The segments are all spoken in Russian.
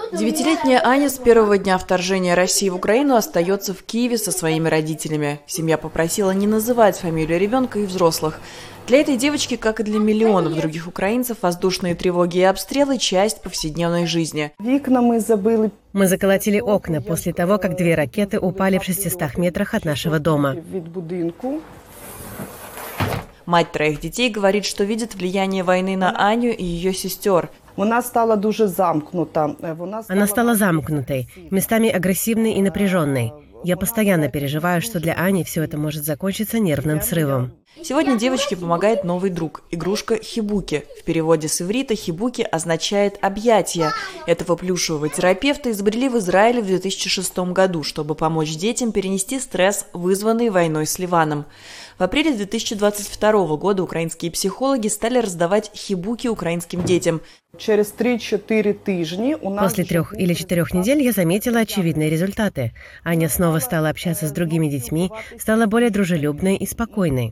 Девятилетняя Аня с первого дня вторжения России в Украину остается в Киеве со своими родителями. Семья попросила не называть фамилию ребенка и взрослых. Для этой девочки, как и для миллионов других украинцев, воздушные тревоги и обстрелы – часть повседневной жизни. Мы заколотили окна после того, как 2 ракеты упали в 600 метрах от нашего дома. Мать 3 детей говорит, что видит влияние войны на Аню и ее сестер. Она стала замкнутой, местами агрессивной и напряженной. Я постоянно переживаю, что для Ани все это может закончиться нервным срывом. Сегодня девочке помогает новый друг – игрушка Хибуки. В переводе с иврита Хибуки означает «объятия». Этого плюшевого терапевта изобрели в Израиле в 2006 году, чтобы помочь детям перенести стресс, вызванный войной с Ливаном. В апреле 2022 года украинские психологи стали раздавать хибуки украинским детям. После 3 или 4 недель я заметила очевидные результаты. Аня снова стала общаться с другими детьми, стала более дружелюбной и спокойной.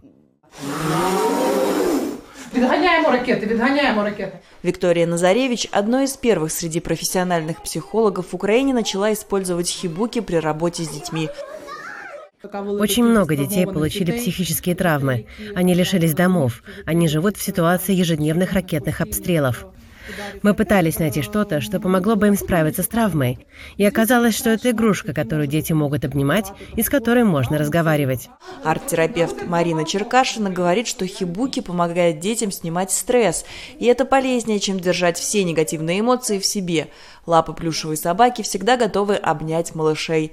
Виктория Назаревич, одной из первых среди профессиональных психологов в Украине, начала использовать хибуки при работе с детьми. Очень много детей получили психические травмы. Они лишились домов. Они живут в ситуации ежедневных ракетных обстрелов. Мы пытались найти что-то, что помогло бы им справиться с травмой. И оказалось, что это игрушка, которую дети могут обнимать и с которой можно разговаривать. Арт-терапевт Марина Черкашина говорит, что хибуки помогает детям снимать стресс. И это полезнее, чем держать все негативные эмоции в себе. Лапы плюшевой собаки всегда готовы обнять малышей.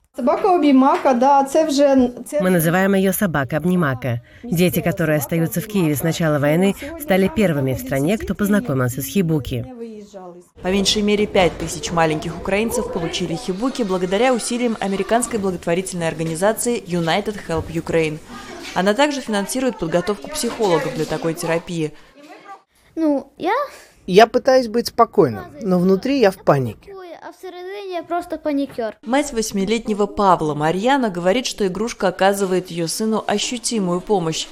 Мы называем ее собака-обнимака. Дети, которые остаются в Киеве с начала войны, стали первыми в стране, кто познакомился с хибуки. По меньшей мере 5000 маленьких украинцев получили хибуки благодаря усилиям американской благотворительной организации United Help Ukraine. Она также финансирует подготовку психологов для такой терапии. Я пытаюсь быть спокойным, но внутри я в панике. А всередині я просто панікер. Мать 8-летнего Павла Марьяна говорит, что игрушка оказывает ее сыну ощутимую помощь.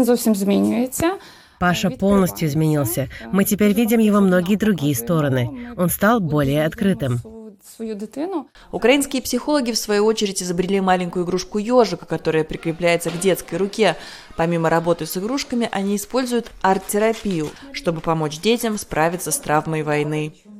Паша полностью изменился. Мы теперь видим его многие другие стороны. Он стал более открытым. Украинские психологи, в свою очередь, изобрели маленькую игрушку ежика, которая прикрепляется к детской руке. Помимо работы с игрушками, они используют арт-терапию, чтобы помочь детям справиться с травмой войны.